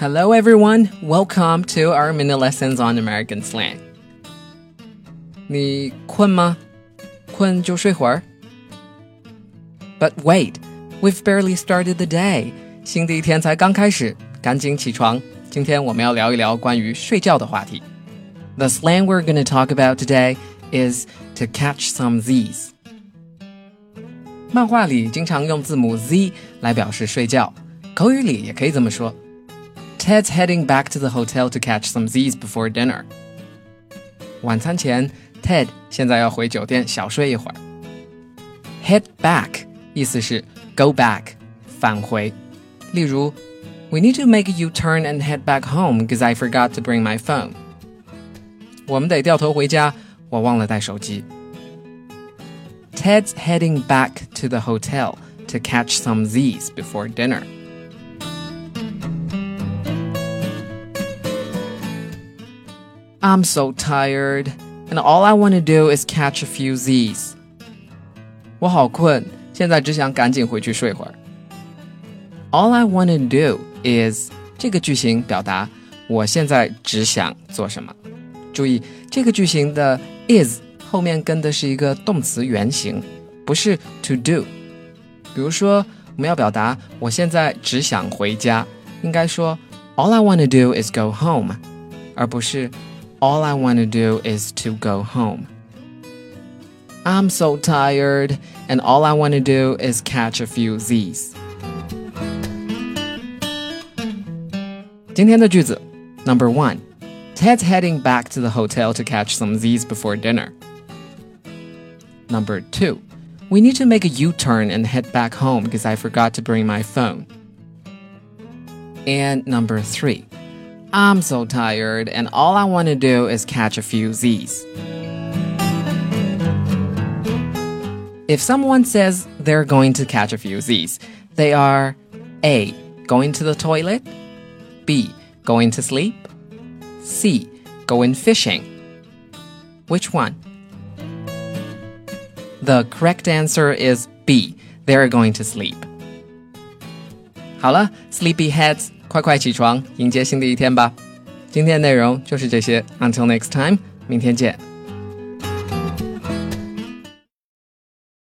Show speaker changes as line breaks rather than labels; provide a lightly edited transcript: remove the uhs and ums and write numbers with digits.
Hello everyone, welcome to our mini lessons on American slang. 你困吗？困就睡会儿。But wait, we've barely started the day. 新的一天才刚开始，赶紧起床。今天我们要聊一聊关于睡觉的话题。The slang we're going to talk about today is to catch some Z's. 漫画里经常用字母 Z 来表示睡觉，口语里也可以这么说。Ted's heading back to the hotel to catch some Z's before dinner. 晚餐前 Ted 现在要回酒店小睡一会儿。Head back 意思是 go back 返回。例如 We need to make a U-turn and head back home because I forgot to bring my phone. 我们得掉头回家，我忘了带手机。Ted's heading back to the hotel to catch some Z's before dinner. I'm so tired, and all I want to do is catch a few Z's. 我好困，现在只想赶紧回去睡会儿。All I want to do is 这个句型表达我现在只想做什么。注意，这个句型的 is 后面跟的是一个动词原形，不是 to do。比如说，我们要表达我现在只想回家，应该说 All I want to do is go home， 而不是All I want to do is to go home. I'm so tired, and all I want to do is catch a few Z's. 今天的句子 Number 1. Ted's heading back to the hotel to catch some Z's before dinner. Number 2. We need to make a U-turn and head back home because I forgot to bring my phone. And Number 3.I'm so tired, and all I want to do is catch a few Z's. If someone says they're going to catch a few Z's, they are A. Going to the toilet, B. Going to sleep, C. Going fishing. Which one? The correct answer is B. They're going to sleep. 好了 Sleepyheads快快起床，迎接新的一天吧！今天的内容就是这些 Until next time， 明天见。